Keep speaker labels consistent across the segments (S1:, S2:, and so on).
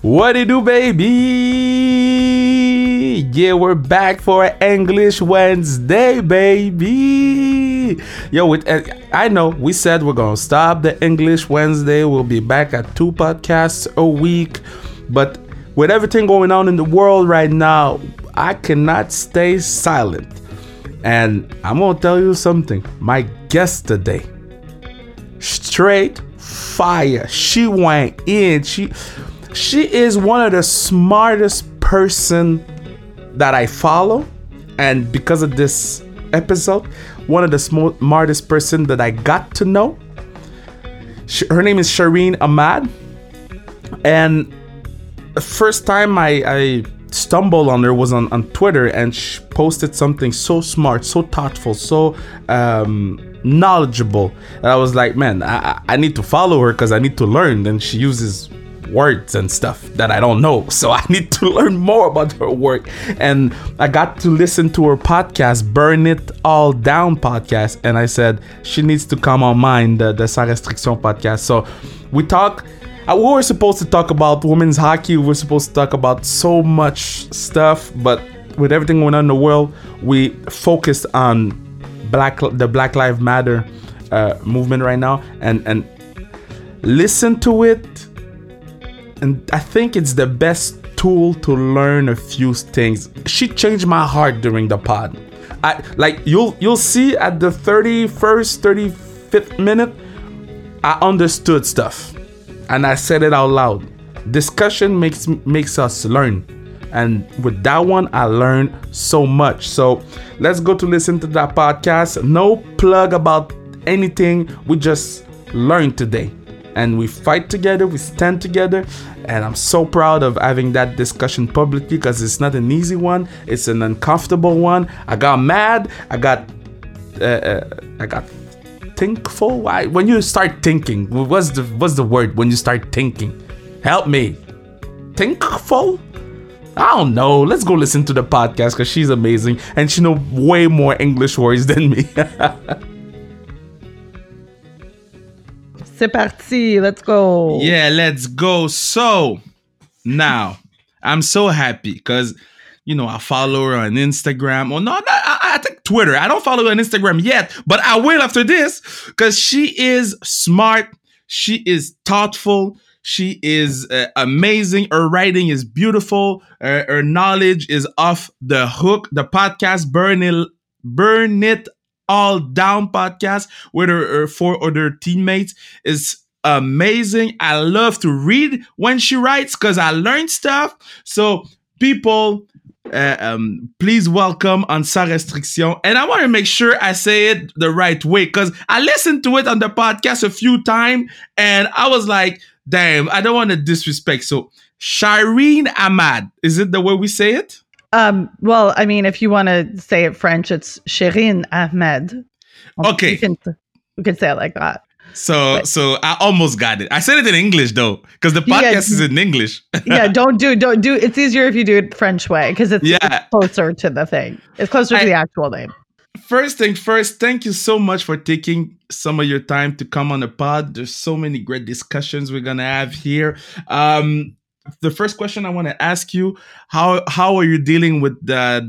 S1: What it do, baby? Yeah, we're back for English Wednesday, baby. Yo, I know we said we're gonna stop the English Wednesday. We'll be back at 2 podcasts a week, but with everything going on in the world right now, I cannot stay silent. And I'm gonna tell you something. My guest today, straight fire. She went in. She is one of the smartest person that I follow, and because of this episode, one of the smartest person that I got to know. Her name is Shireen Ahmad, and the first time I stumbled on her was on Twitter, and she posted something so smart, so thoughtful, so knowledgeable, and I was like, man, I need to follow her because I need to learn. And she uses words and stuff that I don't know, so I need to learn more about her work. And I got to listen to her podcast, Burn It All Down podcast, and I said she needs to come on mine, the Sans Restriction podcast. So we were supposed to talk about women's hockey, we were supposed to talk about so much stuff, but with everything going on in the world, we focused on the Black Lives Matter movement right now, and listen to it. And I think it's the best tool to learn a few things. She changed my heart during the pod. You'll see at the 35th minute, I understood stuff, and I said it out loud. Discussion makes us learn, and with that one, I learned so much. So let's go to listen to that podcast. No plug about anything. We just learned today. And we fight together, we stand together, and I'm so proud of having that discussion publicly because it's not an easy one. It's an uncomfortable one. I got mad. I got thinkful. Why? When you start thinking, what's the word when you start thinking? Help me. Thinkful? I don't know. Let's go listen to the podcast because she's amazing and she knows way more English words than me.
S2: C'est parti, let's go.
S1: Yeah, let's go. So now I'm so happy because, I follow her on Instagram. Oh, no, I think Twitter. I don't follow her on Instagram yet, but I will after this because she is smart. She is thoughtful. She is amazing. Her writing is beautiful. Her knowledge is off the hook. The podcast, Burn It All Down podcast with her 4 other teammates is amazing. I love to read when she writes because I learn stuff. So people, please welcome on Sans Restriction. And I want to make sure I say it the right way because I listened to it on the podcast a few times and I was like, damn, I don't want to disrespect. So Shireen Ahmad, is it the way we say it?
S2: Well, I mean, if you want to say it French, it's Shireen Ahmed.
S1: Okay.
S2: We can say it like that.
S1: So I almost got it. I said it in English though, because the podcast is in English.
S2: Yeah, don't do. It's easier if you do it French way because it's closer to the thing. It's closer to the actual name.
S1: First thing first, thank you so much for taking some of your time to come on the pod. There's so many great discussions we're gonna have here. The first question I want to ask you, how are you dealing with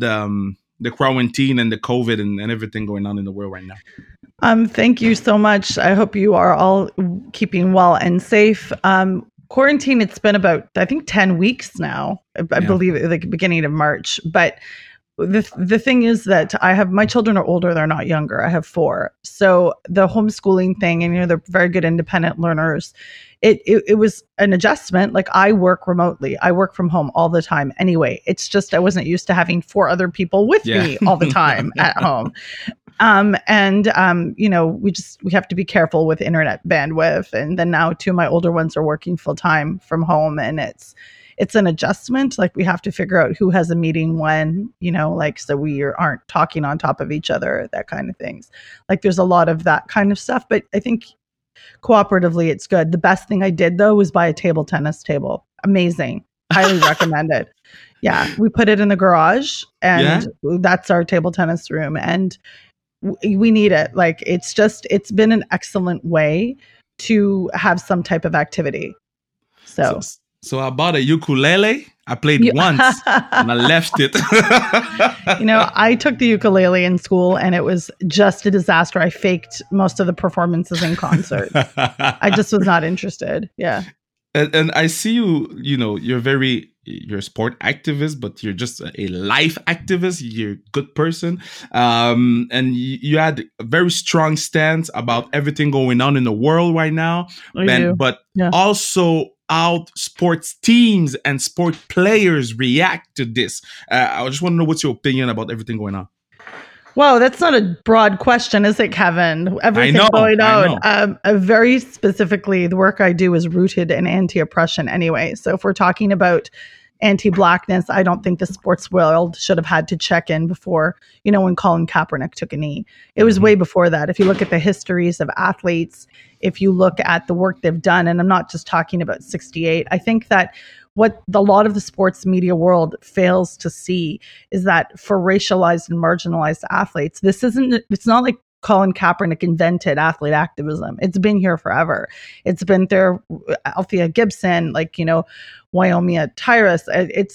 S1: the quarantine and the COVID and everything going on in the world right now?
S2: Thank you so much. I hope you are all keeping well and safe. Quarantine, it's been about, I think, 10 weeks now. I believe at the beginning of March. But the thing is that my children are older, they're not younger. I have 4. So the homeschooling thing, and they're very good independent learners. It was an adjustment. Like I work remotely. I work from home all the time anyway. It's just I wasn't used to having 4 other people with me all the time at home. We have to be careful with internet bandwidth. And then now 2 of my older ones are working full time from home, and it's an adjustment. Like we have to figure out who has a meeting when, so we aren't talking on top of each other, that kind of things. Like there's a lot of that kind of stuff, but I think cooperatively it's good. The best thing I did though was buy a table tennis table. Amazing. Highly recommend it. Yeah. We put it in the garage and that's our table tennis room. And we need it. Like it's been an excellent way to have some type of activity. So
S1: So I bought a ukulele. I played
S2: You,
S1: once and I left it.
S2: I took the ukulele in school and it was just a disaster. I faked most of the performances in concert. I just was not interested. Yeah.
S1: And I see you're a sport activist, but you're just a life activist. You're a good person. And you had a very strong stance about everything going on in the world right now. But
S2: Yeah.
S1: also how sports teams and sport players react to this. I just want to know what's your opinion about everything going on.
S2: Wow, that's not a broad question, is it, Kevin? Everything going on. Very specifically, the work I do is rooted in anti-oppression anyway. So if we're talking about anti-blackness, I don't think the sports world should have had to check in before, when Colin Kaepernick took a knee. It was way before that. If you look at the histories of athletes, if you look at the work they've done, and I'm not just talking about 68, I think that what a lot of the sports media world fails to see is that for racialized and marginalized athletes, it's not like Colin Kaepernick invented athlete activism. It's been here forever. It's been there, Althea Gibson, Waimea Tyus.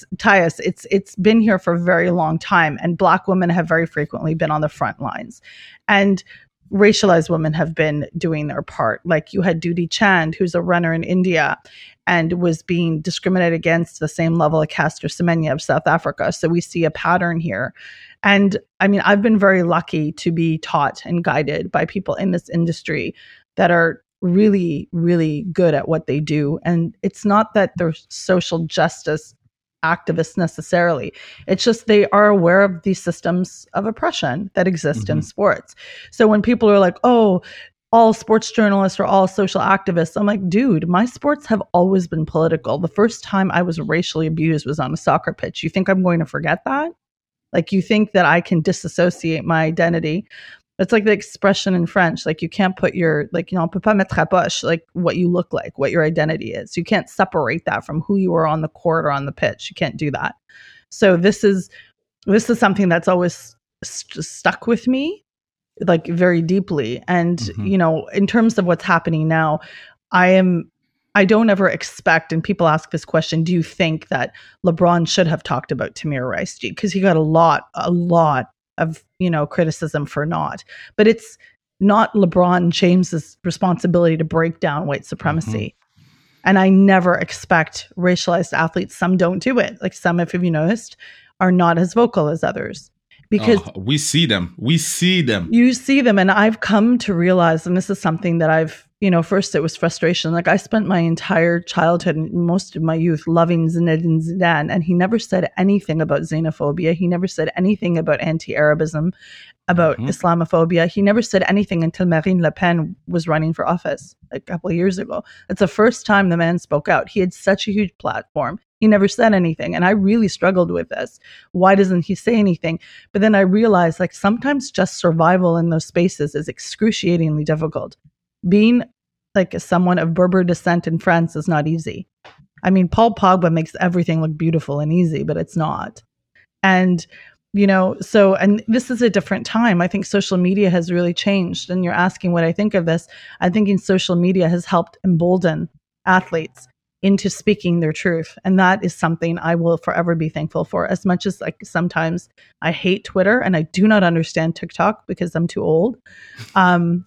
S2: It's been here for a very long time. And Black women have very frequently been on the front lines. And racialized women have been doing their part. Like you had Dudi Chand, who's a runner in India and was being discriminated against the same level as Caster Semenya of South Africa. So we see a pattern here. And I mean, I've been very lucky to be taught and guided by people in this industry that are really, really good at what they do. And it's not that they're social justice activists necessarily. It's just they are aware of these systems of oppression that exist in sports. So when people are like, oh, all sports journalists are all social activists, I'm like, dude, my sports have always been political. The first time I was racially abused was on a soccer pitch. You think I'm going to forget that? Like, you think that I can disassociate my identity? It's like the expression in French, like you can't put your, on peut pas mettre à poche, like what you look like, what your identity is. You can't separate that from who you are on the court or on the pitch. You can't do that. So this is something that's always stuck with me, like very deeply. And, in terms of what's happening now, I don't ever expect, and people ask this question, do you think that LeBron should have talked about Tamir Rice? Because he got a lot of, criticism for not. But it's not LeBron James's responsibility to break down white supremacy. And I never expect racialized athletes, some don't do it. Like some, if you noticed, are not as vocal as others. Because
S1: we see them. You
S2: see them. And I've come to realize, and this is something that I've, first it was frustration. Like I spent my entire childhood and most of my youth loving Zinedine Zidane, and he never said anything about xenophobia. He never said anything about anti-Arabism, about Islamophobia. He never said anything until Marine Le Pen was running for office a couple of years ago. It's the first time the man spoke out. He had such a huge platform. He never said anything. And I really struggled with this. Why doesn't he say anything? But then I realized, like, sometimes just survival in those spaces is excruciatingly difficult. Being like someone of Berber descent in France is not easy. I mean, Paul Pogba makes everything look beautiful and easy, but it's not. And, and this is a different time. I think social media has really changed. And you're asking what I think of this. I'm thinking social media has helped embolden athletes into speaking their truth. And that is something I will forever be thankful for. As much as like sometimes I hate Twitter and I do not understand TikTok because I'm too old. I'm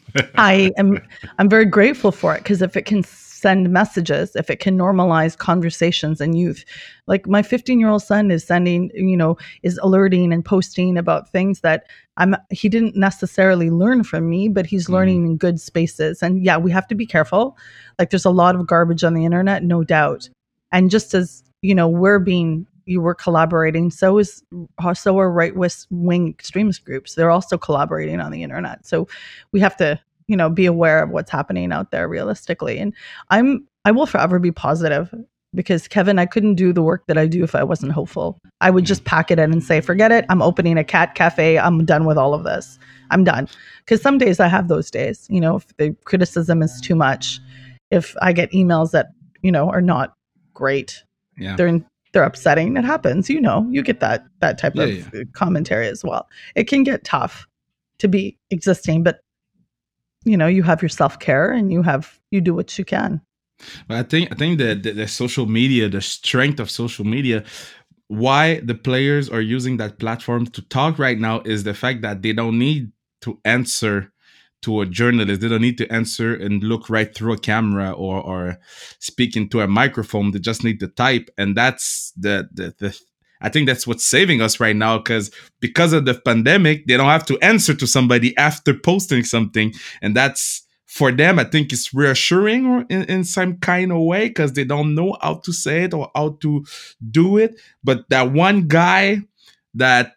S2: very grateful for it, because if it can send messages, if it can normalize conversations in youth, like my 15-year-old son is sending, is alerting and posting about things that he didn't necessarily learn from me, but he's learning in good spaces. And yeah, we have to be careful. Like there's a lot of garbage on the internet, no doubt. And just as, you were collaborating, so are right-wing extremist groups. They're also collaborating on the internet. So we have to, be aware of what's happening out there realistically. And I will forever be positive, because Kevin, I couldn't do the work that I do if I wasn't hopeful. I would just pack it in and say, forget it. I'm opening a cat cafe. I'm done with all of this. I'm done. Because some days I have those days, if the criticism is too much, if I get emails that, are not great, they're upsetting. It happens, you get that type of commentary as well. It can get tough to be existing, but you have your self-care and you do what you can.
S1: But I think that the social media, the strength of social media, why the players are using that platform to talk right now is the fact that they don't need to answer to a journalist. They don't need to answer and look right through a camera or speak into a microphone. They just need to type, and that's the I think that's what's saving us right now because of the pandemic, they don't have to answer to somebody after posting something, and that's for them. I think it's reassuring in some kind of way because they don't know how to say it or how to do it. But that one guy that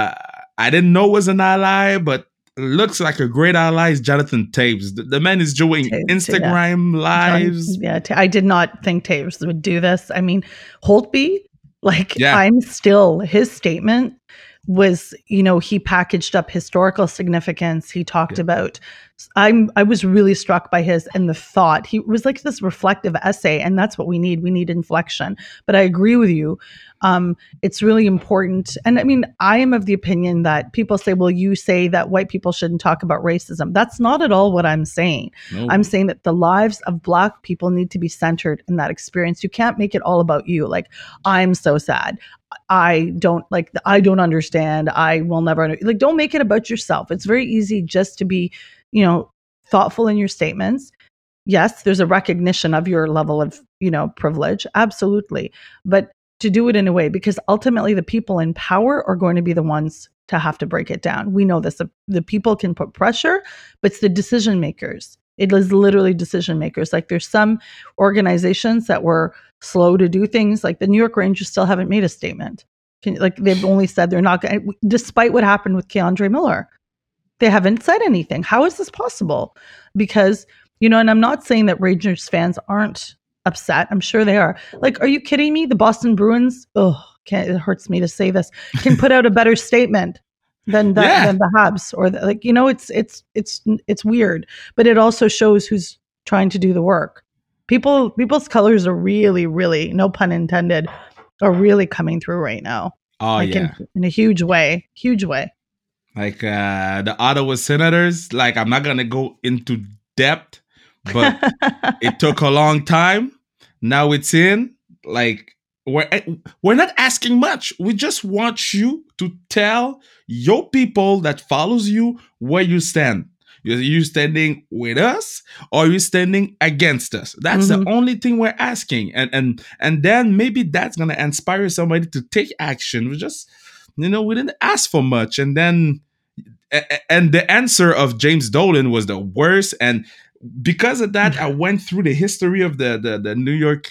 S1: I didn't know was an ally, but looks like a great ally is Jonathan Taves. The man is doing Instagram lives.
S2: I did not think Taves would do this. I mean, Holtby,
S1: Yeah.
S2: his statement was, he packaged up historical significance. He talked about, I was really struck by and the thought. He was like this reflective essay, and that's what we need. We need inflection. But I agree with you. It's really important. And I mean, I am of the opinion that people say, well, you say that white people shouldn't talk about racism. That's not at all what I'm saying.
S1: No.
S2: I'm saying that the lives of Black people need to be centered in that experience. You can't make it all about you. Like, I'm so sad. I don't understand. I will never, don't make it about yourself. It's very easy just to be, thoughtful in your statements. Yes, there's a recognition of your level of, privilege. Absolutely. But to do it in a way, because ultimately the people in power are going to be the ones to have to break it down. We know this. The people can put pressure, but it's the decision makers. It is literally decision makers. Like, there's some organizations that were slow to do things. Like the New York Rangers still haven't made a statement. They've only said they're not going to, despite what happened with Keandre Miller. They haven't said anything. How is this possible? Because, and I'm not saying that Rangers fans aren't upset. I'm sure they are. Like, are you kidding me? The Boston Bruins, it hurts me to say this, can put out a better statement than the Habs, or it's weird, but it also shows who's trying to do the work. People's colors are really, really, no pun intended, are really coming through right now.
S1: Oh, yeah.
S2: In a huge way.
S1: Like the Ottawa Senators, like, I'm not going to go into depth, but it took a long time. Now it's in. Like, we're not asking much. We just want you to tell your people that follows you where you stand. You standing with us, or you standing against us? That's the only thing we're asking. And then maybe that's gonna inspire somebody to take action. We just, we didn't ask for much. And then the answer of James Dolan was the worst. And because of that, I went through the history of the New York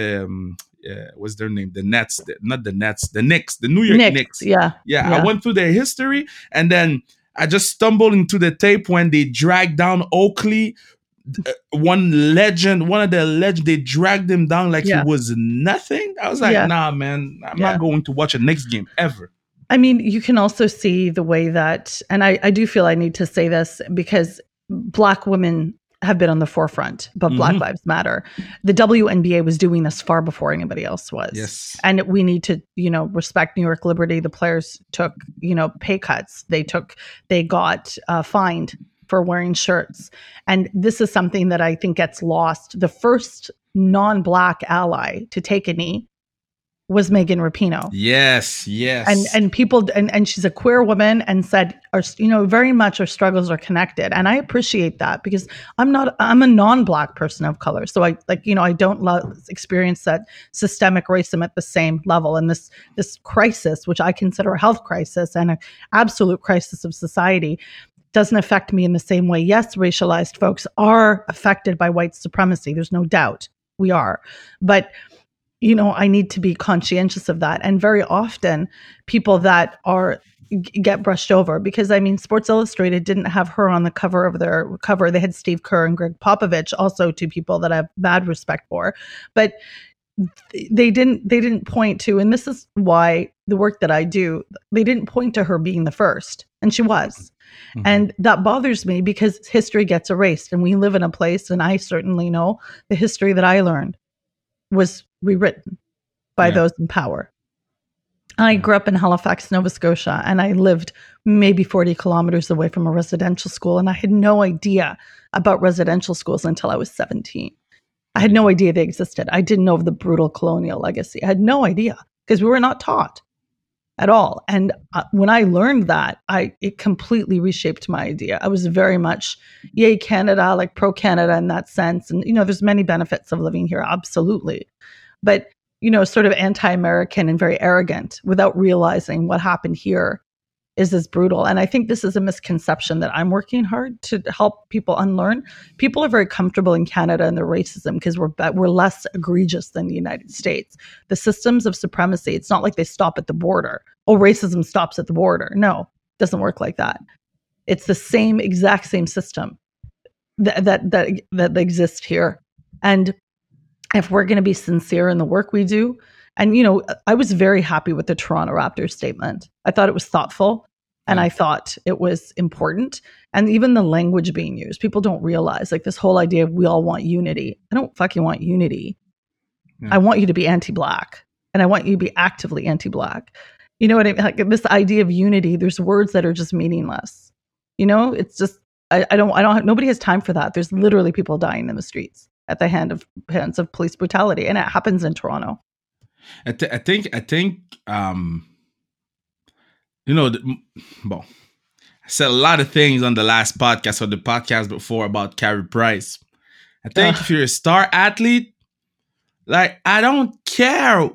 S1: what's their name? The Nets, not the Nets, the Knicks, the New York Knicks.
S2: Yeah.
S1: I went through their history, and then I just stumbled into the tape when they dragged down Oakley, one of the legends. They dragged him down like he was nothing. I was like, nah, man, I'm not going to watch a Knicks game ever.
S2: I mean, you can also see the way that, and I do feel I need to say this because Black women have been on the forefront, but Black Lives Matter. The WNBA was doing this far before anybody else was.
S1: Yes.
S2: And we need to, respect New York Liberty. The players took, pay cuts. They got fined for wearing shirts. And this is something that I think gets lost. The first non-Black ally to take a knee was Megan Rapinoe.
S1: Yes.
S2: And people, and she's a queer woman, and said, very much our struggles are connected. And I appreciate that, because I'm a non-Black person of color. So I don't experience that systemic racism at the same level. And this crisis, which I consider a health crisis and an absolute crisis of society, doesn't affect me in the same way. Yes, racialized folks are affected by white supremacy. There's no doubt we are. But I need to be conscientious of that. And very often people that get brushed over, because Sports Illustrated didn't have her on the cover of their cover. They had Steve Kerr and Greg Popovich, also two people that I have mad respect for. But they didn't point to, and this is why the work that I do, they didn't point to her being the first, and she was. And that bothers me, because history gets erased, and we live in a place, and I certainly know the history that I learned was rewritten by those in power. I grew up in Halifax, Nova Scotia, and I lived maybe 40 kilometers away from a residential school, and I had no idea about residential schools until I was 17. I had no idea they existed. I didn't know of the brutal colonial legacy. I had no idea because we were not taught at all. And when I learned that, it completely reshaped my idea. I was very much, yay, Canada, like pro Canada in that sense. And, there's many benefits of living here, absolutely. But, sort of anti-American and very arrogant without realizing what happened here is as brutal. And I think this is a misconception that I'm working hard to help people unlearn. People are very comfortable in Canada and their racism because we're less egregious than the United States. The systems of supremacy, it's not like they stop at the border. Oh, racism stops at the border. No, it doesn't work like that. It's the exact same system that exists here. And if we're going to be sincere in the work we do, and, I was very happy with the Toronto Raptors statement. I thought it was thoughtful and I thought it was important. And even the language being used, people don't realize, like, this whole idea of we all want unity. I don't fucking want unity. I want you to be anti-Black, and I want you to be actively anti-Black. You know what I mean? Like, this idea of unity, there's words that are just meaningless. It's just, nobody has time for that. There's literally people dying in the streets at the hands of police brutality. And it happens in Toronto.
S3: I think I said a lot of things on the last podcast or the podcast before about Carey Price. I think if you're a star athlete, like, I don't care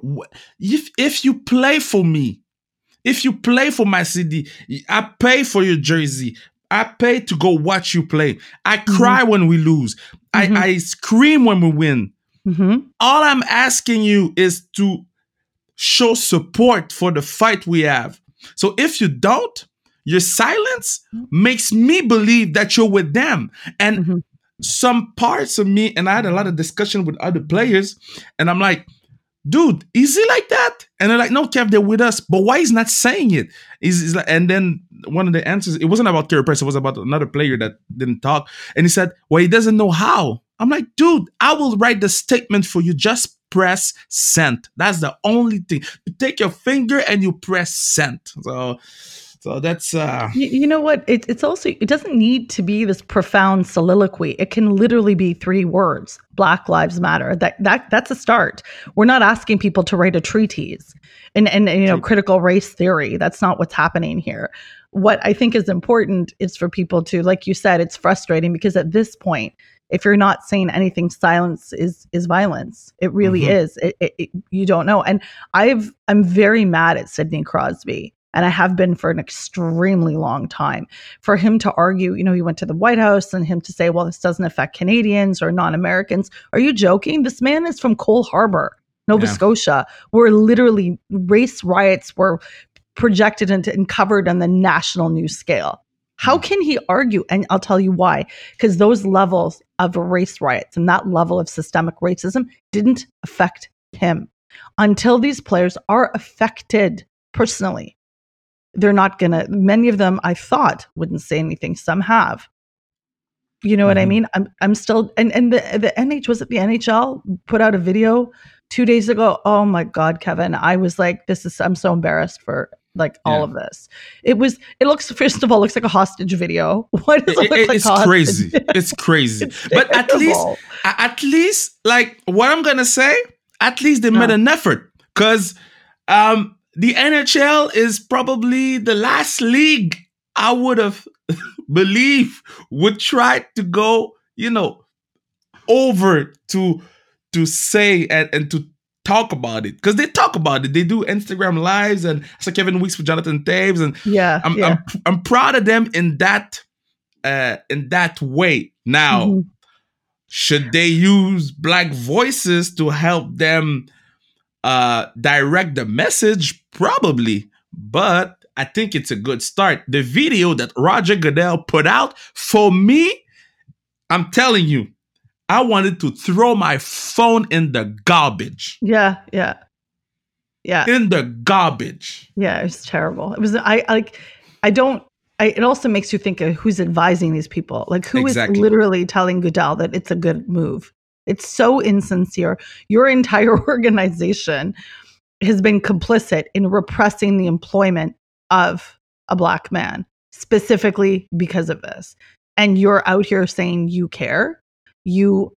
S3: if you play for me, if you play for my city, I pay for your jersey. I pay to go watch you play. I cry when we lose. I scream when we win. All I'm asking you is to show support for the fight we have. So if you don't, your silence makes me believe that you're with them. And some parts of me, and I had a lot of discussion with other players, and I'm like, dude, is he like that? And they're like, no, Kev, they're with us. But why he's not saying it? He's like, and then one of the answers, it wasn't about Carey Price, it was about another player that didn't talk. And he said, well, he doesn't know how. I'm like, dude, I will write the statement for you. Just press send. That's the only thing. You take your finger and you press send. So that's
S2: you know what? It's also, it doesn't need to be this profound soliloquy. It can literally be 3 words. Black Lives Matter. That's a start. We're not asking people to write a treatise and critical race theory. That's not what's happening here. What I think is important is for people to, like you said, it's frustrating because at this point, if you're not saying anything, silence is violence. It really is. You don't know. And I'm very mad at Sidney Crosby. And I have been for an extremely long time. For him to argue, he went to the White House, and him to say, well, this doesn't affect Canadians or non-Americans. Are you joking? This man is from Cole Harbour, Nova Scotia, where literally race riots were projected and covered on the national news scale. How can he argue? And I'll tell you why. Because those levels of race riots and that level of systemic racism didn't affect him. Until these players are affected personally, they're not going to, many of them I thought wouldn't say anything. Some have. You know what I mean? I'm still, and the NHL put out a video 2 days ago. Oh my God, Kevin. I was like, I'm so embarrassed for all of this. It looks, first of all, looks like a hostage video. What does it look like?
S3: It's crazy. It's crazy. But at least, like, what I'm going to say, at least they made an effort, because, the NHL is probably the last league I would have believe would try to go, over to say and to talk about it, because they talk about it. They do Instagram lives, and I saw Kevin Weeks with Jonathan Taves, and I'm proud of them in that way. Now, should they use Black voices to help them direct the message? Probably, but I think it's a good start. The video that Roger Goodell put out, for me, I'm telling you, I wanted to throw my phone in the garbage.
S2: Yeah.
S3: In the garbage.
S2: Yeah, it was terrible. It was, it also makes you think of who's advising these people. Like, who is literally telling Goodell that it's a good move? It's so insincere. Your entire organization has been complicit in repressing the employment of a Black man, specifically because of this. And you're out here saying you care.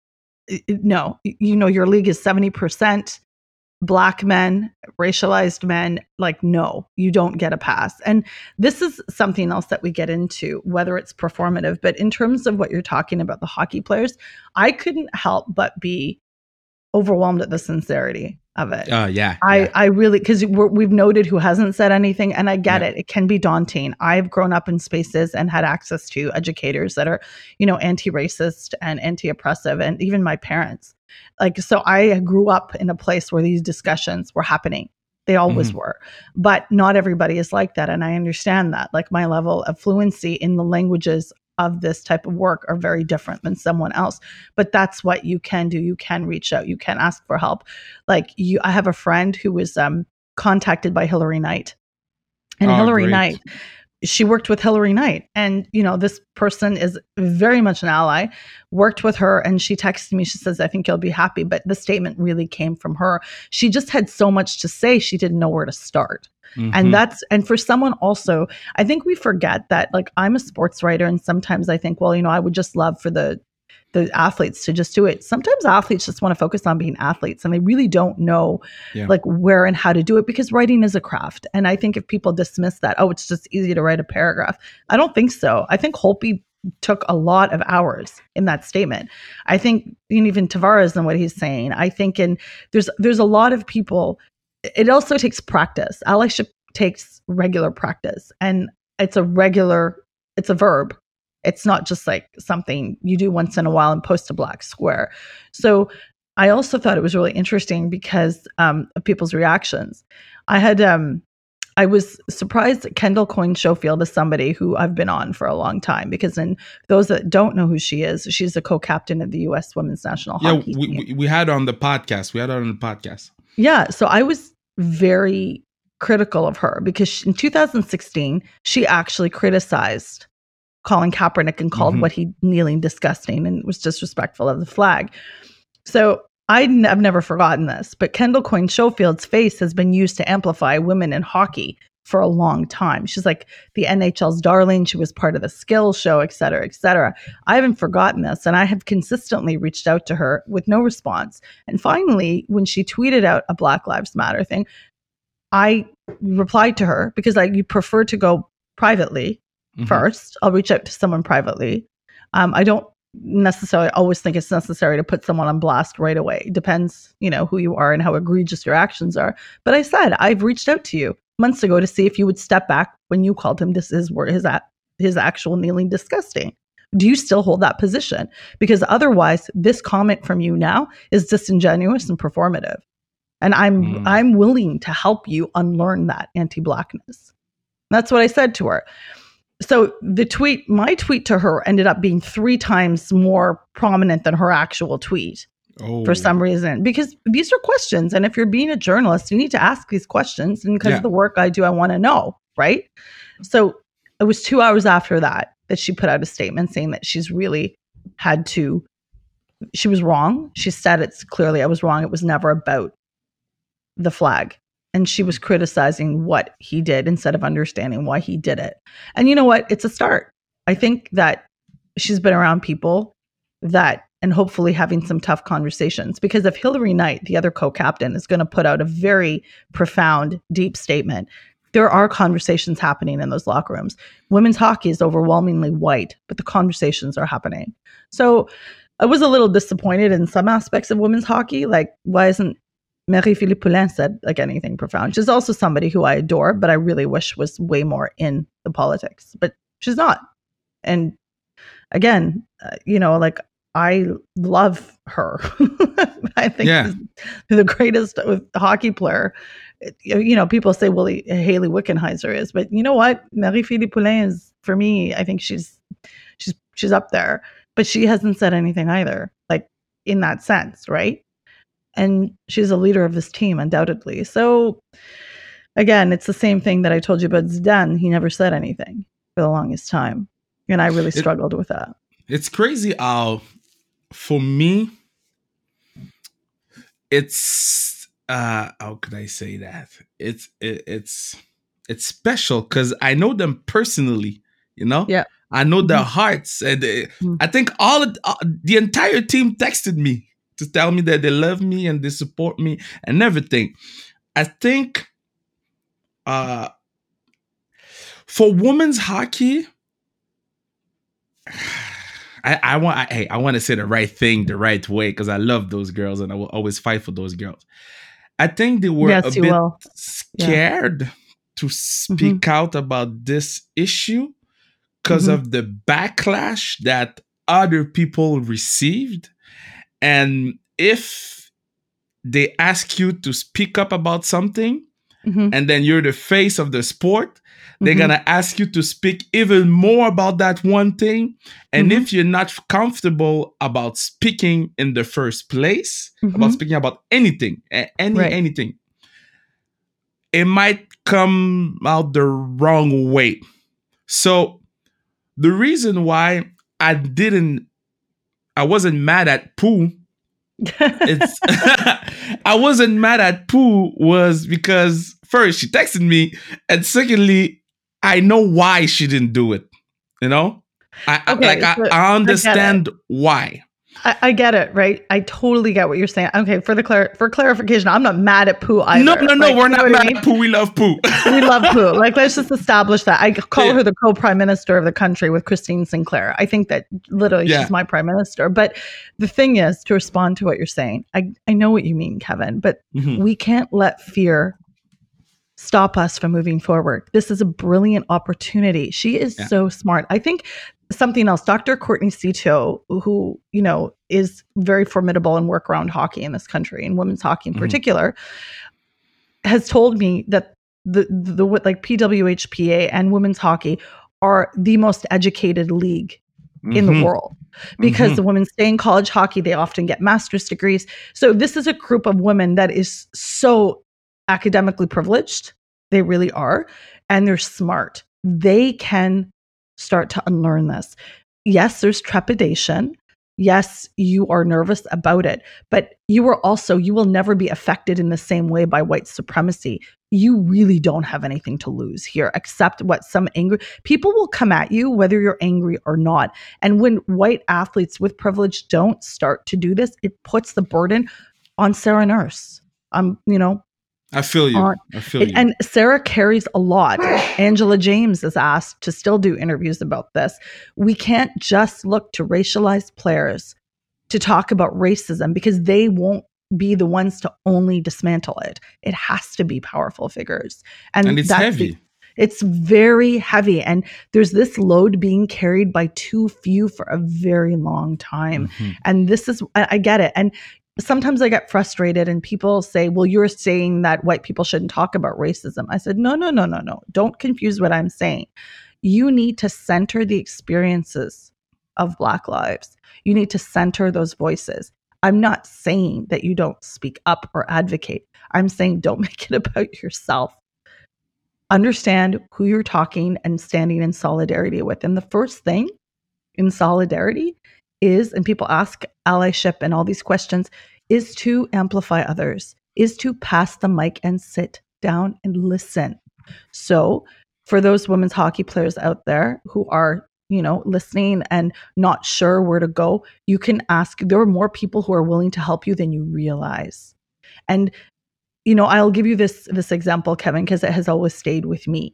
S2: no, your league is 70% Black men, racialized men. Like, no, you don't get a pass. And this is something else that we get into, whether it's performative, but in terms of what you're talking about, the hockey players, I couldn't help but be overwhelmed at the sincerity of it. I really, because we've noted who hasn't said anything, and I get it. It can be daunting. I've grown up in spaces and had access to educators that are, anti-racist and anti-oppressive, and even my parents. So I grew up in a place where these discussions were happening. They always were, but not everybody is like that. And I understand that. Like, my level of fluency in the languages of this type of work are very different than someone else. But that's what you can do. You can reach out. You can ask for help. I have a friend who was contacted by Hilary Knight. And Hilary Knight, she worked with Hilary Knight. And, this person is very much an ally, worked with her. And she texted me, she says, I think you'll be happy. But the statement really came from her. She just had so much to say. She didn't know where to start. And for someone also, I think we forget that, I'm a sports writer, and sometimes I think, well, I would just love for the athletes to just do it. Sometimes athletes just want to focus on being athletes, and they really don't know where and how to do it, because writing is a craft. And I think if people dismiss that, it's just easy to write a paragraph. I don't think so. I think Holtby took a lot of hours in that statement. I think even Tavares and what he's saying, I think, and there's a lot of people. It also takes practice. Allyship takes regular practice, and it's a verb. It's not just like something you do once in a while and post a black square. So I also thought it was really interesting because of people's reactions. I was surprised that Kendall Coyne Schofield is somebody who I've been on for a long time, because in those that don't know who she is, she's the co-captain of the U.S. Women's National Hockey team.
S3: We had her on the podcast.
S2: Yeah, so I was very critical of her because in 2016, she actually criticized Colin Kaepernick and called what he kneeling disgusting and was disrespectful of the flag. So I've never forgotten this, but Kendall Coyne Schofield's face has been used to amplify women in hockey for a long time. She's like the NHL's darling. She was part of the skills show, et cetera, et cetera. I haven't forgotten this, and I have consistently reached out to her with no response. And finally, when she tweeted out a Black Lives Matter thing, I replied to her because you prefer to go privately first. I'll reach out to someone privately. I don't necessarily always think it's necessary to put someone on blast right away. It depends, who you are and how egregious your actions are. But I said, I've reached out to you months ago to see if you would step back when you called him his actual kneeling disgusting. Do you still hold that position? Because otherwise, this comment from you now is disingenuous and performative. And I'm willing to help you unlearn that anti-blackness. That's what I said to her. So my tweet to her ended up being 3 times more prominent than her actual tweet for some reason, because these are questions. And if you're being a journalist, you need to ask these questions. And because of the work I do, I want to know, right? So it was 2 hours after that she put out a statement saying that she was wrong. She said it's clearly, I was wrong. It was never about the flag. And she was criticizing what he did instead of understanding why he did it. And you know what? It's a start. I think that she's been around people and hopefully having some tough conversations, because if Hilary Knight, the other co-captain, is going to put out a very profound, deep statement, there are conversations happening in those locker rooms. Women's hockey is overwhelmingly white, but the conversations are happening. So I was a little disappointed in some aspects of women's hockey. Like, why isn't Marie-Philippe Poulin said anything profound? She's also somebody who I adore, but I really wish was way more in the politics, but she's not. And again, I love her. I think she's the greatest hockey player. People say, well, Hayley Wickenheiser is, but you know what? Marie-Philippe Poulin is, for me, I think she's up there, but she hasn't said anything either, in that sense, right? And she's a leader of this team, undoubtedly. So again, it's the same thing that I told you about Zidane. He never said anything for the longest time. And I really struggled with that.
S3: It's crazy how, for me, it's, how could I say that? It's special because I know them personally,
S2: Yeah.
S3: I know their hearts. And I think the entire team texted me to tell me that they love me and they support me and everything. I think for women's hockey, I want to say the right thing the right way because I love those girls and I will always fight for those girls. I think they were a bit scared to speak out about this issue because of the backlash that other people received. And if they ask you to speak up about something and then you're the face of the sport, they're going to ask you to speak even more about that one thing. And if you're not comfortable about speaking in the first place, about speaking about anything, anything, it might come out the wrong way. So the reason why I wasn't mad at Pooh. I wasn't mad at Pooh was because first she texted me, and secondly, I know why she didn't do it. You know, I understand why.
S2: I get it, right? I totally get what you're saying. Okay, for clarification, I'm not mad at Pooh either.
S3: No, we're not mad at Pooh. We love Pooh.
S2: We love Pooh. Like, let's just establish that. I call her the co-prime minister of the country with Christine Sinclair. I think that literally she's my prime minister. But the thing is, to respond to what you're saying, I know what you mean, Kevin, but we can't let fear stop us from moving forward. This is a brilliant opportunity. She is so smart. I think something else, Dr. Courtney Cito, who, you know, is very formidable in work around hockey in this country and women's hockey in particular, has told me that the like PWHPA and women's hockey are the most educated league in the world because the women stay in college hockey. They often get master's degrees. So this is a group of women that is so academically privileged. They really are. And they're smart. They can start to unlearn this. Yes, there's trepidation. Yes, you are nervous about it, but you will never be affected in the same way by white supremacy. You really don't have anything to lose here, except what some angry people will come at you, whether you're angry or not. And when white athletes with privilege don't start to do this, it puts the burden on Sarah Nurse.
S3: I feel you.
S2: And Sarah carries a lot. Angela James is asked to still do interviews about this. We can't just look to racialized players to talk about racism because they won't be the ones to only dismantle it. It has to be powerful figures. And
S3: it's heavy.
S2: It's very heavy. And there's this load being carried by too few for a very long time. And I get it. And sometimes I get frustrated and people say, well, you're saying that white people shouldn't talk about racism. I said, no. Don't confuse what I'm saying. You need to center the experiences of Black lives. You need to center those voices. I'm not saying that you don't speak up or advocate. I'm saying don't make it about yourself. Understand who you're talking and standing in solidarity with. And the first thing in solidarity is, and people ask allyship and all these questions, is to amplify others, is to pass the mic and sit down and listen. So for those women's hockey players out there who are, listening and not sure where to go, you can ask. There are more people who are willing to help you than you realize. And, I'll give you this example, Kevin, because it has always stayed with me.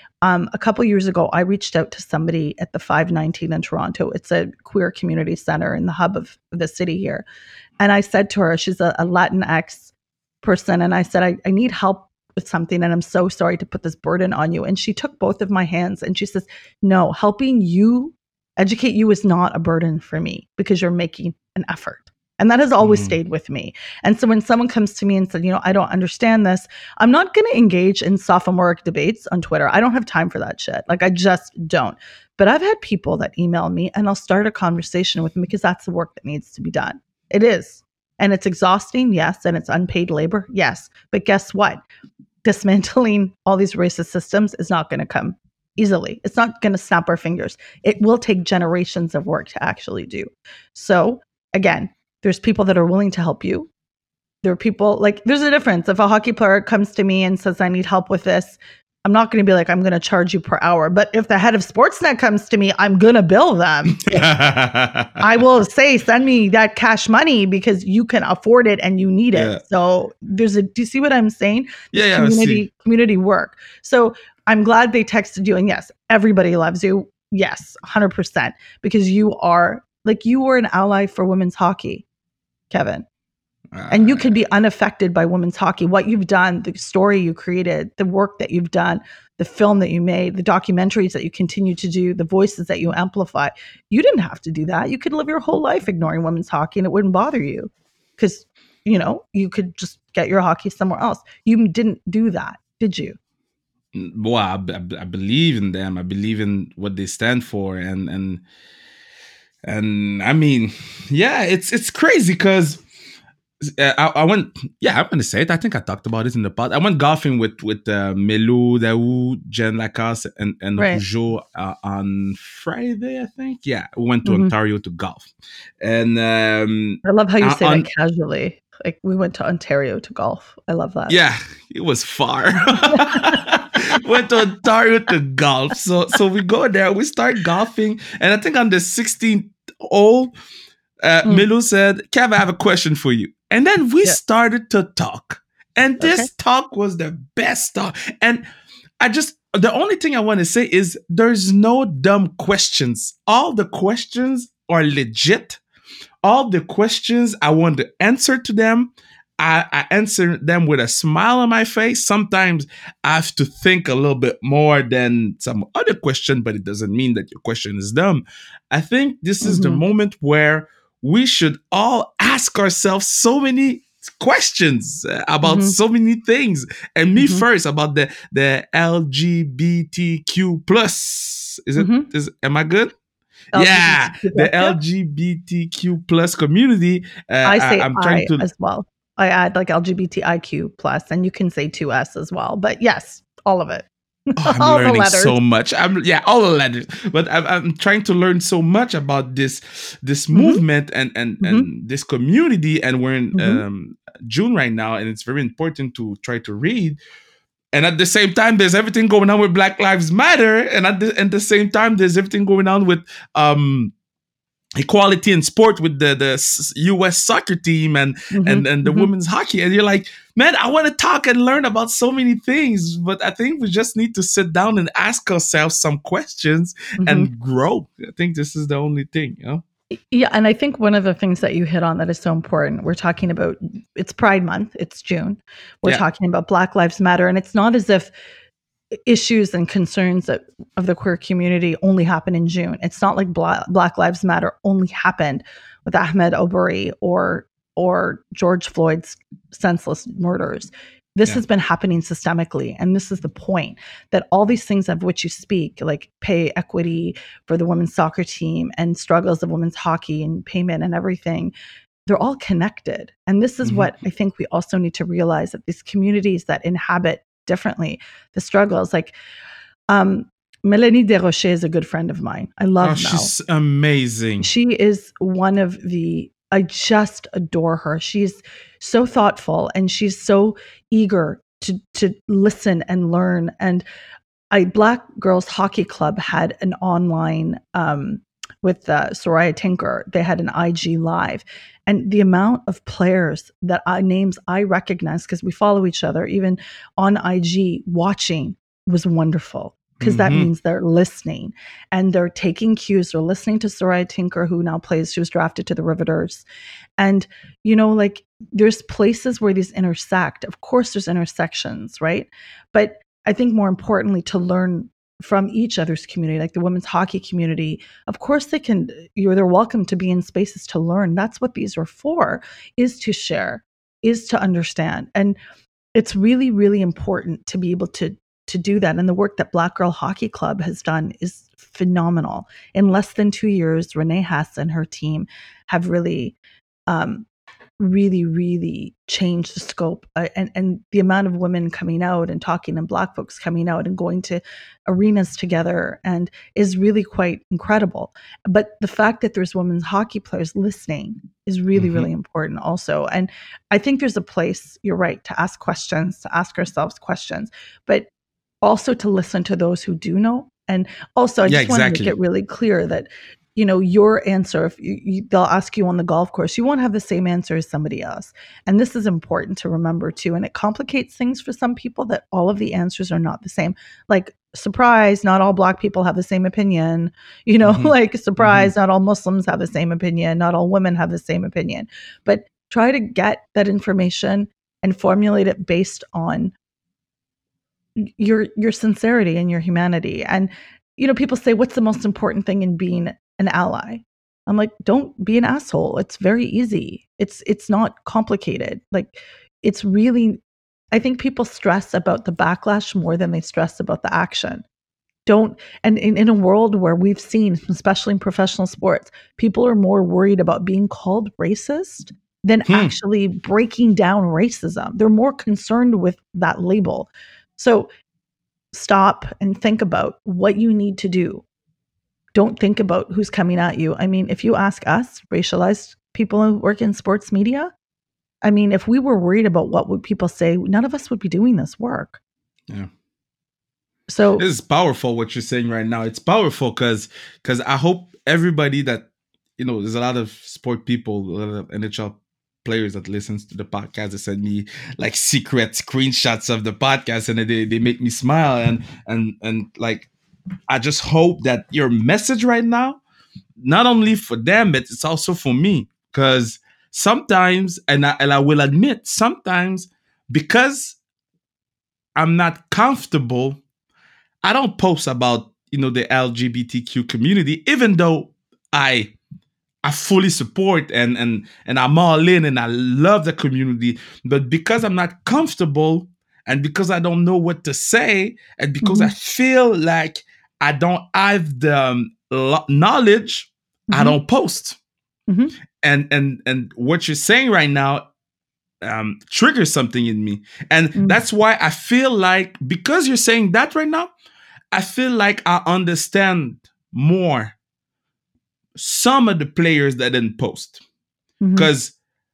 S2: A couple years ago, I reached out to somebody at the 519 in Toronto. It's a queer community center in the hub of the city here. And I said to her, she's a Latinx person. And I said, I need help with something. And I'm so sorry to put this burden on you. And she took both of my hands and she says, no, helping you educate you is not a burden for me because you're making an effort. And that has always stayed with me. And so when someone comes to me and said, I don't understand this, I'm not going to engage in sophomoric debates on Twitter. I don't have time for that shit. Like, I just don't. But I've had people that email me and I'll start a conversation with them because that's the work that needs to be done. It is. And it's exhausting, yes. And it's unpaid labor, yes. But guess what? Dismantling all these racist systems is not going to come easily. It's not going to snap our fingers. It will take generations of work to actually do. So again, there's people that are willing to help you. There are people there's a difference. If a hockey player comes to me and says, I need help with this, I'm not going to be like, I'm going to charge you per hour. But if the head of Sportsnet comes to me, I'm going to bill them. I will say, send me that cash money because you can afford it and you need it.
S3: Yeah.
S2: So do you see what I'm saying?
S3: Yeah, I see.
S2: Community work. So I'm glad they texted you. And yes, everybody loves you. Yes, 100%. Because you were an ally for women's hockey, Kevin. And you can be unaffected by women's hockey. What you've done, the story you created, the work that you've done, the film that you made, the documentaries that you continue to do, the voices that you amplify. You didn't have to do that. You could live your whole life ignoring women's hockey and it wouldn't bother you because, you could just get your hockey somewhere else. You didn't do that, did you?
S3: Well, I believe in them. I believe in what they stand for. And I mean, yeah, it's crazy because I went. Yeah, I'm gonna say it. I think I talked about it in the pod. I went golfing with Melou, Daou, Jen Lacasse, and
S2: Right.
S3: Rougeau on Friday. I think. Yeah, we went to Ontario to golf, and
S2: I love how you say that casually. Like we went to Ontario to golf. I love that.
S3: Yeah, it was far. Went to Ontario to golf. So we go there. We start golfing, and I think on the 16th hole, Melou said, "Kev, I have a question for you." And then we started to talk. And this talk was the best talk. And the only thing I want to say is there's no dumb questions. All the questions are legit. All the questions, I want to answer to them. I answer them with a smile on my face. Sometimes I have to think a little bit more than some other question, but it doesn't mean that your question is dumb. I think this is the moment where we should all ask ourselves so many questions about so many things. And me first about the LGBTQ plus. Am I good? Yeah, the LGBTQ plus community.
S2: I'm trying to as well. I add like LGBTIQ plus, and you can say 2S as well. But yes, all of it.
S3: I'm learning so much. All the letters. But I'm trying to learn so much about this movement and this community. And we're in June right now, and it's very important to try to read. And at the same time, there's everything going on with Black Lives Matter, and at the same time, there's everything going on with equality in sport with the U.S. soccer team and the women's hockey. And you're like, man, I want to talk and learn about so many things, but I think we just need to sit down and ask ourselves some questions and grow. I think this is the only thing,
S2: Yeah, and I think one of the things that you hit on that is so important, we're talking about, it's Pride Month, it's June. We're talking about Black Lives Matter, and it's not as if issues and concerns of the queer community only happen in June. It's not like Black Lives Matter only happened with Ahmed Obery or George Floyd's senseless murders. This has been happening systemically. And this is the point, that all these things of which you speak, like pay equity for the women's soccer team and struggles of women's hockey and payment and everything, they're all connected. And this is what I think we also need to realize, that these communities that inhabit differently the struggles, like Mélanie Desrochers is a good friend of mine. I love Mel.
S3: She's amazing.
S2: She is one of I just adore her. She's so thoughtful and she's so eager to listen and learn. And Black Girls Hockey Club had an online with Soraya Tinker. They had an IG live, and the amount of players that names I recognize, because we follow each other even on IG, watching was wonderful. Because that means they're listening and they're taking cues. They're listening to Soraya Tinker, who now she was drafted to the Riveters. And, like there's places where these intersect. Of course, there's intersections, right? But I think more importantly, to learn from each other's community, like the women's hockey community, of course they're welcome to be in spaces to learn. That's what these are for, is to share, is to understand. And it's really, really important to be able to do that. And the work that Black Girl Hockey Club has done is phenomenal. In less than 2 years, Renee Hess and her team have really, really changed the scope and the amount of women coming out and talking, and Black folks coming out and going to arenas together, and is really quite incredible. But the fact that there's women's hockey players listening is really, really important also. And I think there's a place, you're right, to ask questions, to ask ourselves questions. But also to listen to those who do know. And also, I just want to make it really clear that, your answer, if they'll ask you on the golf course, you won't have the same answer as somebody else. And this is important to remember too. And it complicates things for some people that all of the answers are not the same. Like, surprise, not all Black people have the same opinion. Like, surprise, not all Muslims have the same opinion. Not all women have the same opinion. But try to get that information and formulate it based on your sincerity and your humanity. And people say, what's the most important thing in being an ally? I'm like, don't be an asshole. It's very easy. It's not complicated. Like, it's really, I think people stress about the backlash more than they stress about the action. And in a world where we've seen, especially in professional sports, people are more worried about being called racist than actually breaking down racism. They're more concerned with that label. So stop and think about what you need to do. Don't think about who's coming at you. I mean, if you ask us, racialized people who work in sports media, I mean, if we were worried about what would people say, none of us would be doing this work.
S3: Yeah.
S2: So
S3: this is powerful what you're saying right now. It's powerful because I hope everybody that, there's a lot of sport people, a lot of NHL players that listens to the podcast that send me like secret screenshots of the podcast and they make me smile and like, I just hope that your message right now, not only for them, but it's also for me. Because sometimes, and I will admit, sometimes because I'm not comfortable, I don't post about, the LGBTQ community, even though I fully support and I'm all in and I love the community. But because I'm not comfortable and because I don't know what to say and because I feel like I don't have the knowledge, I don't post. And what you're saying right now triggers something in me. And that's why I feel like, because you're saying that right now, I feel like I understand more some of the players that didn't post. Because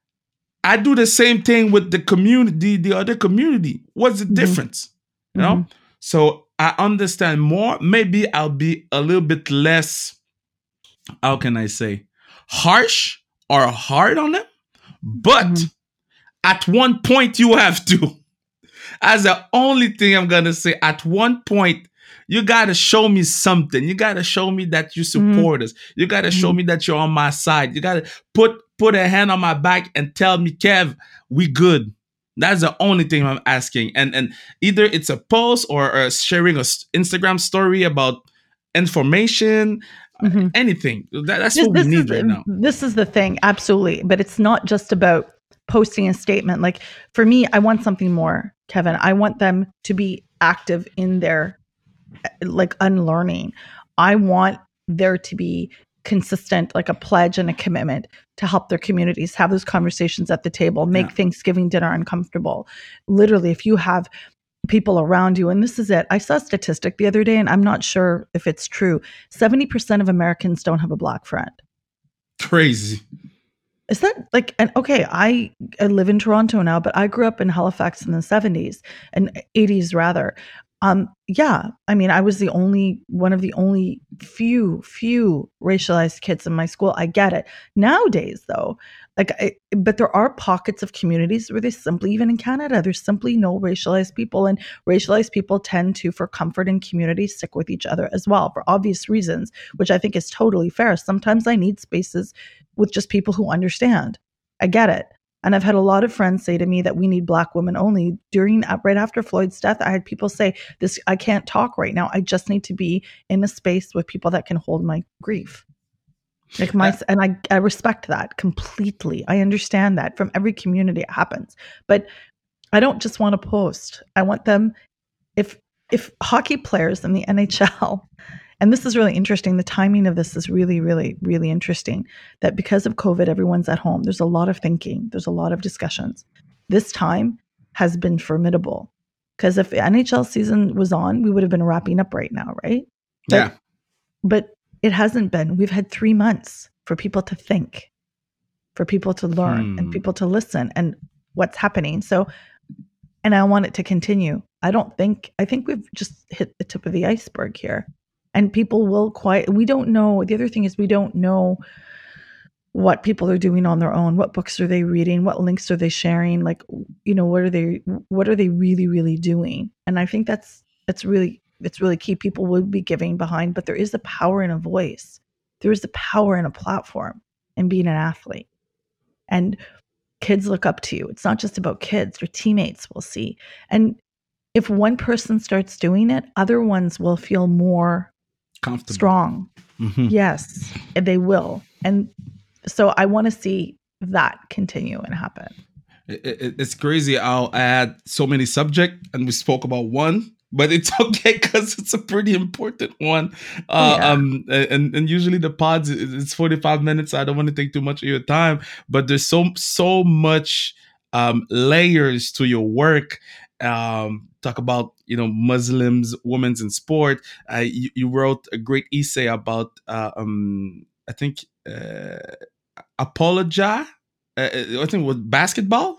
S3: I do the same thing with the community, the other community. What's the difference? You know? So I understand more. Maybe I'll be a little bit less, how can I say, harsh or hard on them. But at one point you have to. That's the only thing I'm going to say. At one point, you got to show me something. You got to show me that you support us. You got to show me that you're on my side. You got to put a hand on my back and tell me, Kev, we good. That's the only thing I'm asking. And either it's a post or sharing an Instagram story about information, anything. That's what we need right now.
S2: This is the thing. Absolutely. But it's not just about posting a statement. Like, for me, I want something more, Kevin. I want them to be active in their like unlearning. I want there to be consistent, like a pledge and a commitment to help their communities, have those conversations at the table, make Thanksgiving dinner uncomfortable. Literally, if you have people around you, and this is it. I saw a statistic the other day, and I'm not sure if it's true. 70% of Americans don't have a Black friend.
S3: Crazy.
S2: Is that like, and okay, I live in Toronto now, but I grew up in Halifax in the 70s and 80s rather. Yeah, I mean, I was one of the only few racialized kids in my school. I get it. Nowadays, though, but there are pockets of communities where there's simply, even in Canada, there's simply no racialized people, and racialized people tend to, for comfort in community, stick with each other as well for obvious reasons, which I think is totally fair. Sometimes I need spaces with just people who understand. I get it. And I've had a lot of friends say to me that we need Black women only. Right after Floyd's death, I had people say, "This, I can't talk right now. I just need to be in a space with people that can hold my grief." And I respect that completely. I understand that from every community it happens. But I don't just want to post. I want them, if hockey players in the NHL, and this is really interesting, the timing of this is really, really, really interesting, that because of COVID, everyone's at home. There's a lot of thinking. There's a lot of discussions. This time has been formidable, because if the NHL season was on, we would have been wrapping up right now, right? But it hasn't been. We've had 3 months for people to think, for people to learn, and people to listen and what's happening. So, and I want it to continue. I think we've just hit the tip of the iceberg here. And people will we don't know. The other thing is we don't know what people are doing on their own. What books are they reading? What links are they sharing? Like, what are they really, really doing? And I think it's really key. People would be giving behind, but there is a power in a voice. There is a power in a platform and being an athlete. And kids look up to you. It's not just about kids. Your teammates will see. And if one person starts doing it, other ones will feel more
S3: comfortable,
S2: strong.
S3: Mm-hmm.
S2: Yes, they will. And so I want to see that continue and happen.
S3: It's crazy how I had so many subjects and we spoke about one, but it's okay because it's a pretty important one. And usually the pods, it's 45 minutes. I don't want to take too much of your time, but there's so much layers to your work. Talk about Muslims, women's in sport. You wrote a great essay about I think apologize. I think with basketball,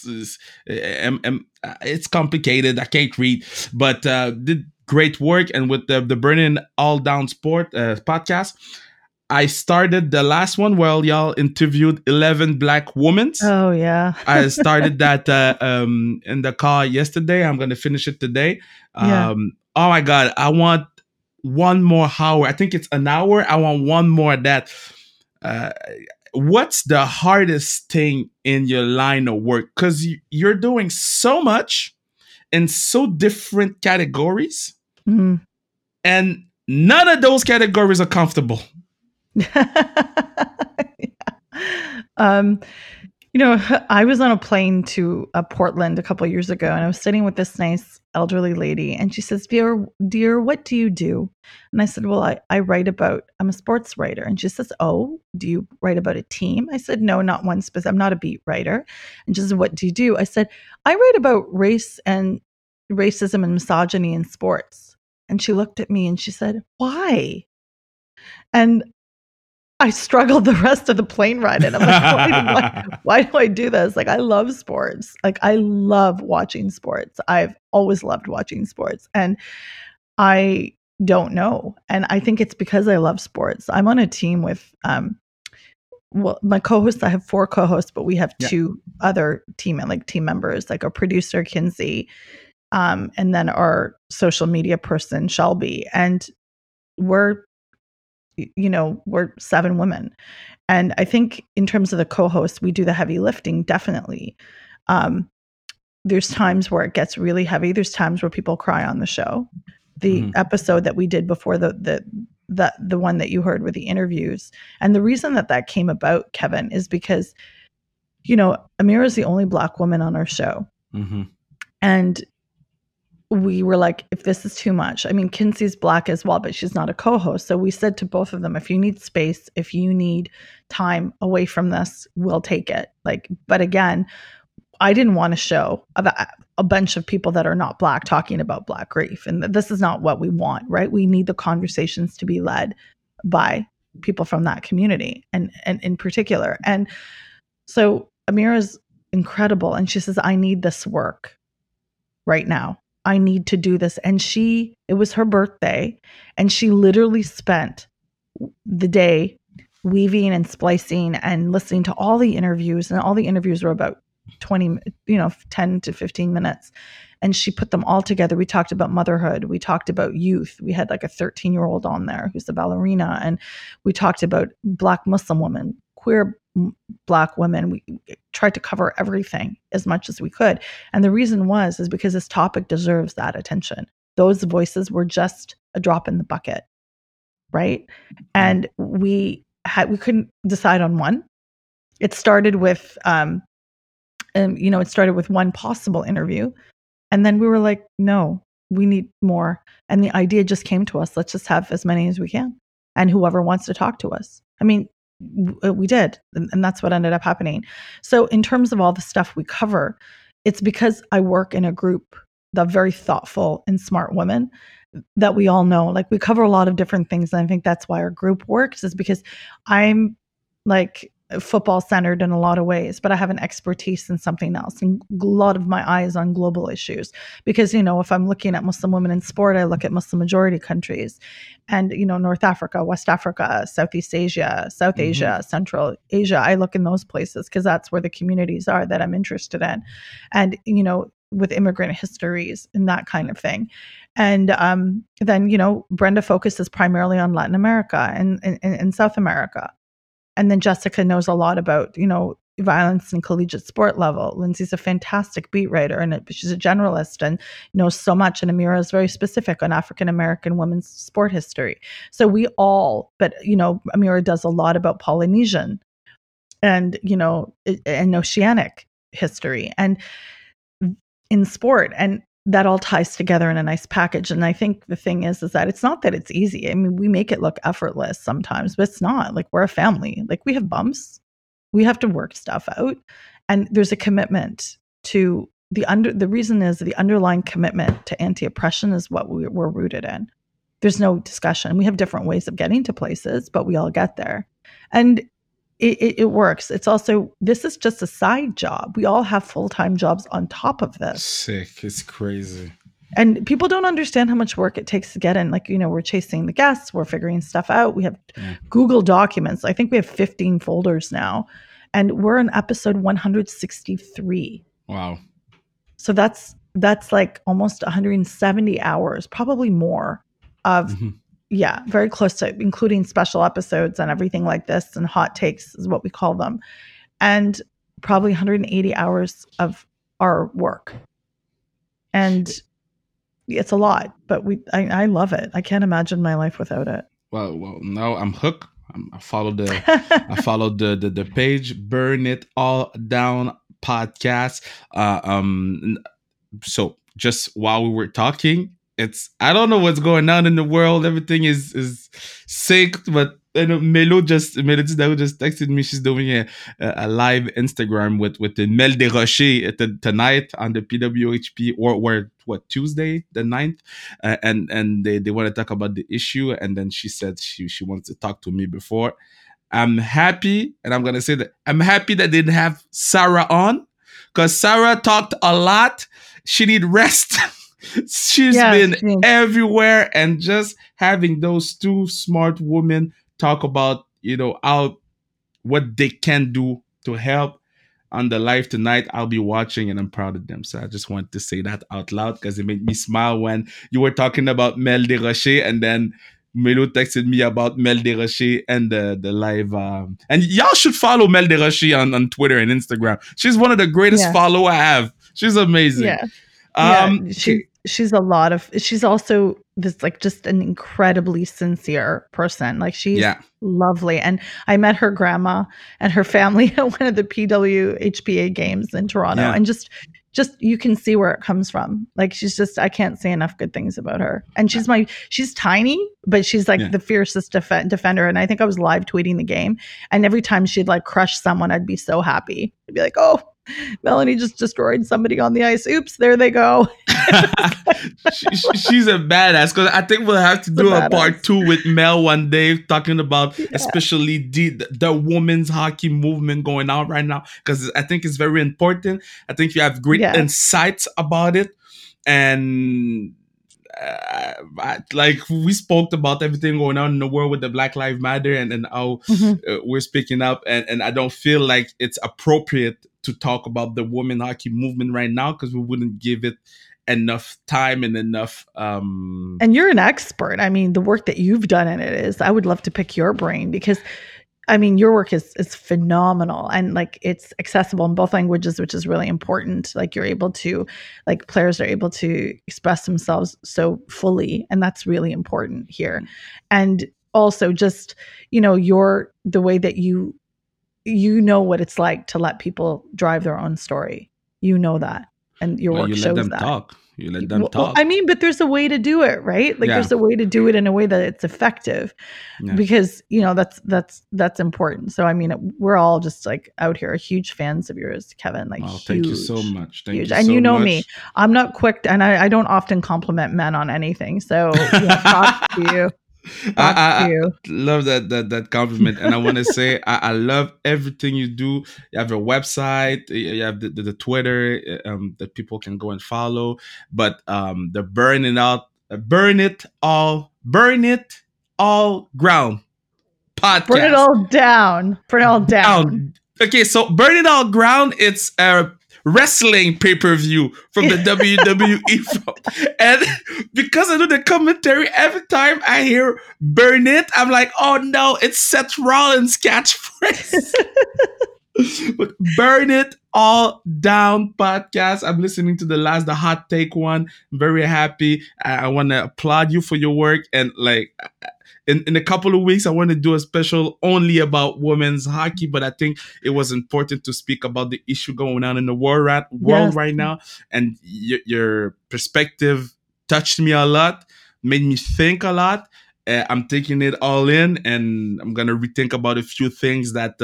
S3: it's complicated. I can't read, but did great work. And with the Burning All Down Sport podcast, I started the last one where y'all interviewed 11 Black women.
S2: Oh, yeah.
S3: I started that in the car yesterday. I'm going to finish it today. Oh, my God. I want one more hour. I think it's an hour. I want one more of that. What's the hardest thing in your line of work? Because you're doing so much in so different categories.
S2: Mm-hmm.
S3: And none of those categories are comfortable.
S2: I was on a plane to Portland a couple of years ago, and I was sitting with this nice elderly lady, and she says, dear, what do you do? And I said, well, I'm a sports writer. And she says, oh, do you write about a team? I said, no, not one specific. I'm not a beat writer. And she says, what do you do? I said, I write about race and racism and misogyny in sports. And she looked at me and she said, why? And I struggled the rest of the plane ride, and I'm like, why do I do this? Like, I love sports. Like, I love watching sports. I've always loved watching sports, and I don't know. And I think it's because I love sports. I'm on a team with, my co-hosts. I have 4 co-hosts, but we have 2 other team members, like our producer Kinsey, and then our social media person Shelby, and we're 7 women. And I think in terms of the co-hosts, we do the heavy lifting, definitely. There's times where it gets really heavy. There's times where people cry on the show. The episode that we did before the one that you heard with the interviews. And the reason that came about, Kevin, is because, Amira is the only Black woman on our show.
S3: Mm-hmm.
S2: And we were like, if this is too much, I mean, Kinsey's Black as well, but she's not a co-host. So we said to both of them, if you need space, if you need time away from this, we'll take it. But again, I didn't want to show a bunch of people that are not Black talking about Black grief. And this is not what we want, right? We need the conversations to be led by people from that community and in particular. And so Amira's incredible. And she says, I need this work right now. I need to do this. And it was her birthday, and she literally spent the day weaving and splicing and listening to all the interviews, and all the interviews were about 10 to 15 minutes. And she put them all together. We talked about motherhood. We talked about youth. We had like a 13-year-old on there who's a ballerina. And we talked about Black Muslim women, queer Black women. We tried to cover everything as much as we could. And the reason is because this topic deserves that attention. Those voices were just a drop in the bucket, right? And we couldn't decide on one. It started with, one possible interview. And then we were like, no, we need more. And the idea just came to us. Let's just have as many as we can. And whoever wants to talk to us. I mean, we did. And that's what ended up happening. So in terms of all the stuff we cover, it's because I work in a group of very thoughtful and smart women that we all know. Like, we cover a lot of different things. And I think that's why our group works, is because I'm like, football centered in a lot of ways, but I have an expertise in something else, and a lot of my eyes on global issues. Because, if I'm looking at Muslim women in sport, I look at Muslim majority countries and, North Africa, West Africa, Southeast Asia, South Asia, Central Asia. I look in those places because that's where the communities are that I'm interested in. And, with immigrant histories and that kind of thing. And then, Brenda focuses primarily on Latin America and South America. And then Jessica knows a lot about, violence and collegiate sport level. Lindsay's a fantastic beat writer, and she's a generalist and knows so much. And Amira is very specific on African-American women's sport history. So we all, but, Amira does a lot about Polynesian and, and Oceanic history and in sport. And that all ties together in a nice package. And I think the thing is that it's not that it's easy. I mean, we make it look effortless sometimes, but it's not. Like, we're a family. Like, we have bumps. We have to work stuff out. And there's a commitment to the reason is the underlying commitment to anti-oppression is what we're rooted in. There's no discussion. We have different ways of getting to places, but we all get there. And it works. It's also, this is just a side job. We all have full-time jobs on top of this.
S3: Sick. It's crazy.
S2: And people don't understand how much work it takes to get in. Like, we're chasing the guests. We're figuring stuff out. We have Google Documents. I think we have 15 folders now. And we're in episode 163.
S3: Wow.
S2: So that's like almost 170 hours, probably more of very close to, including special episodes and everything like this, and hot takes is what we call them. And probably 180 hours of our work. And it's a lot, but I love it. I can't imagine my life without it.
S3: Well, now I'm hooked. I followed the page, Burn It All Down podcast. So just while we were talking, I don't know what's going on in the world. Everything is synced, but Melo just texted me. She's doing a live Instagram with the Mel Desrochers tonight on the PWHP or Tuesday the 9th, and they want to talk about the issue. And then she said she wants to talk to me before. I'm happy, and I'm gonna say that I'm happy that they didn't have Sarah on, because Sarah talked a lot. She need rest. She's been everywhere, and just having those two smart women talk about, what they can do to help on the live tonight. I'll be watching, and I'm proud of them. So I just wanted to say that out loud because it made me smile when you were talking about Mel Desrochers, and then Melo texted me about Mel Desrochers and the live. And y'all should follow Mel Desrochers on Twitter and Instagram. She's one of the greatest follow I have. She's amazing.
S2: She's she's also this, like, just an incredibly sincere person. Like, she's lovely. And I met her grandma and her family at one of the PWHPA games in Toronto. And just you can see where it comes from. Like, I can't say enough good things about her. And she's tiny, but she's like the fiercest defender. And I think I was live tweeting the game. And every time she'd like crush someone, I'd be so happy. I'd be like, oh, Melanie just destroyed somebody on the ice. Oops, there they go.
S3: She's a badass, because I think we'll have to do a part 2 with Mel one day, talking about especially the women's hockey movement going on right now, because I think it's very important. I think you have great insights about it, and like we spoke about everything going on in the world with the Black Lives Matter and how we're speaking up, and I don't feel like it's appropriate to talk about the women hockey movement right now, because we wouldn't give it enough time and enough
S2: and you're an expert. I mean, the work that you've done in it is, I would love to pick your brain, because I mean, your work is phenomenal, and like, it's accessible in both languages, which is really important. Like, you're able to, like, players are able to express themselves so fully, and that's really important here. And also just, the way that you know what it's like to let people drive their own story. You know that. And your work shows that.
S3: You let them talk.
S2: Well, I mean, but there's a way to do it, right? Like, there's a way to do it in a way that it's effective, because, that's important. So, I mean, we're all just like out here huge fans of yours, Kevin. Like,
S3: thank you so much. Thank you
S2: and
S3: so much.
S2: Me, I'm not quick, and I don't often compliment men on anything. So, props to you.
S3: I love that compliment, and I want to say I love everything you do. You have your website, you have the Twitter that people can go and follow, but the burn it all ground podcast.
S2: Burn it all down. Burn it all down.
S3: Okay, so Burn It All Ground, it's a wrestling pay-per-view from the WWE. And because I do the commentary, every time I hear Burn It, I'm like, oh no, it's Seth Rollins' catchphrase. But Burn It All Down podcast. I'm listening to the hot take one. I'm very happy. I want to applaud you for your work, and like in a couple of weeks, I want to do a special only about women's hockey, but I think it was important to speak about the issue going on in the world right now. And your perspective touched me a lot, made me think a lot. I'm taking it all in, and I'm going to rethink about a few things that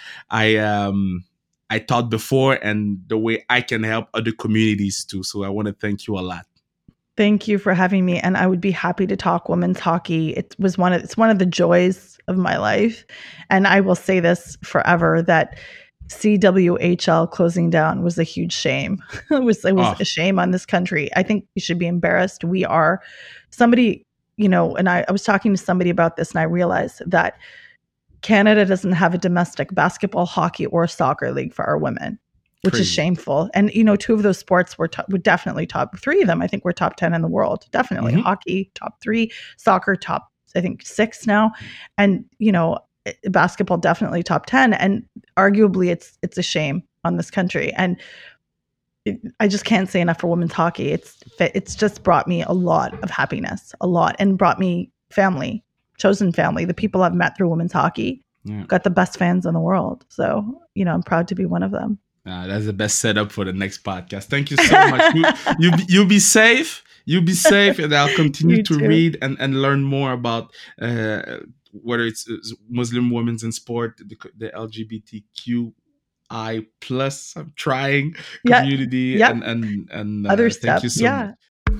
S3: I thought before, and the way I can help other communities too. So I want to thank you a lot.
S2: Thank you for having me, and I would be happy to talk women's hockey. It's one of the joys of my life, and I will say this forever, that CWHL closing down was a huge shame. It was a shame on this country. I think we should be embarrassed. We are somebody, and I was talking to somebody about this, and I realized that Canada doesn't have a domestic basketball, hockey, or soccer league for our women, which is shameful. And, two of those sports were definitely top 3 of them. I think we're top 10 in the world. Definitely. Mm-hmm. Hockey, top 3, soccer, top, I think 6 now. And, basketball, definitely top 10. And arguably it's a shame on this country. And I just can't say enough for women's hockey. It's just brought me a lot of happiness, and brought me family, chosen family, the people I've met through women's hockey. Yeah. Got the best fans in the world. So, I'm proud to be one of them.
S3: That's the best setup for the next podcast. Thank you so much. You be safe. You be safe, and I'll continue to read and learn more about whether it's Muslim women in sport, the LGBTQI plus. I'm trying community and
S2: other stuff.
S3: Thank you so much.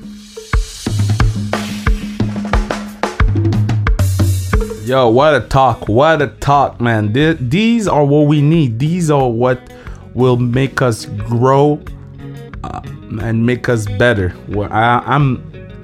S1: Yo, what a talk, man. These are what we need. These are what will make us grow and make us better. I'm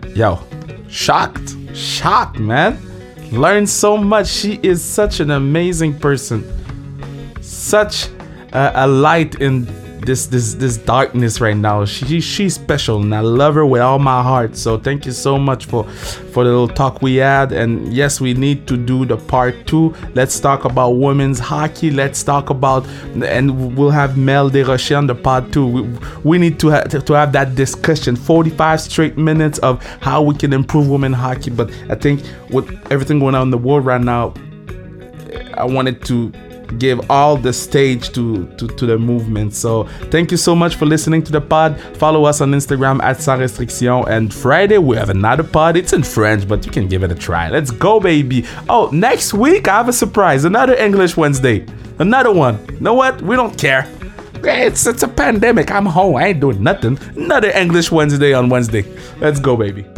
S1: shocked, man. Learned so much. She is such an amazing person, such a light in this darkness right now. She's special, and I love her with all my heart. So thank you so much for the little talk we had. And yes, we need to do the part 2. Let's talk about women's hockey. Let's talk about, and we'll have Mel Desrochers on the part 2. We need to have that discussion, 45 straight minutes of how we can improve women's hockey. But I think with everything going on in the world right now, I wanted to give all the stage to the movement. So thank you so much for listening to the pod. Follow us on Instagram @Sans Restriction, and Friday we have another pod. It's in French, but you can give it a try. Let's go, baby. Oh, next week I have a surprise, another English Wednesday, another one. You know what, we don't care. It's a pandemic. I'm home, I ain't doing nothing. Another English Wednesday on Wednesday. Let's go, baby.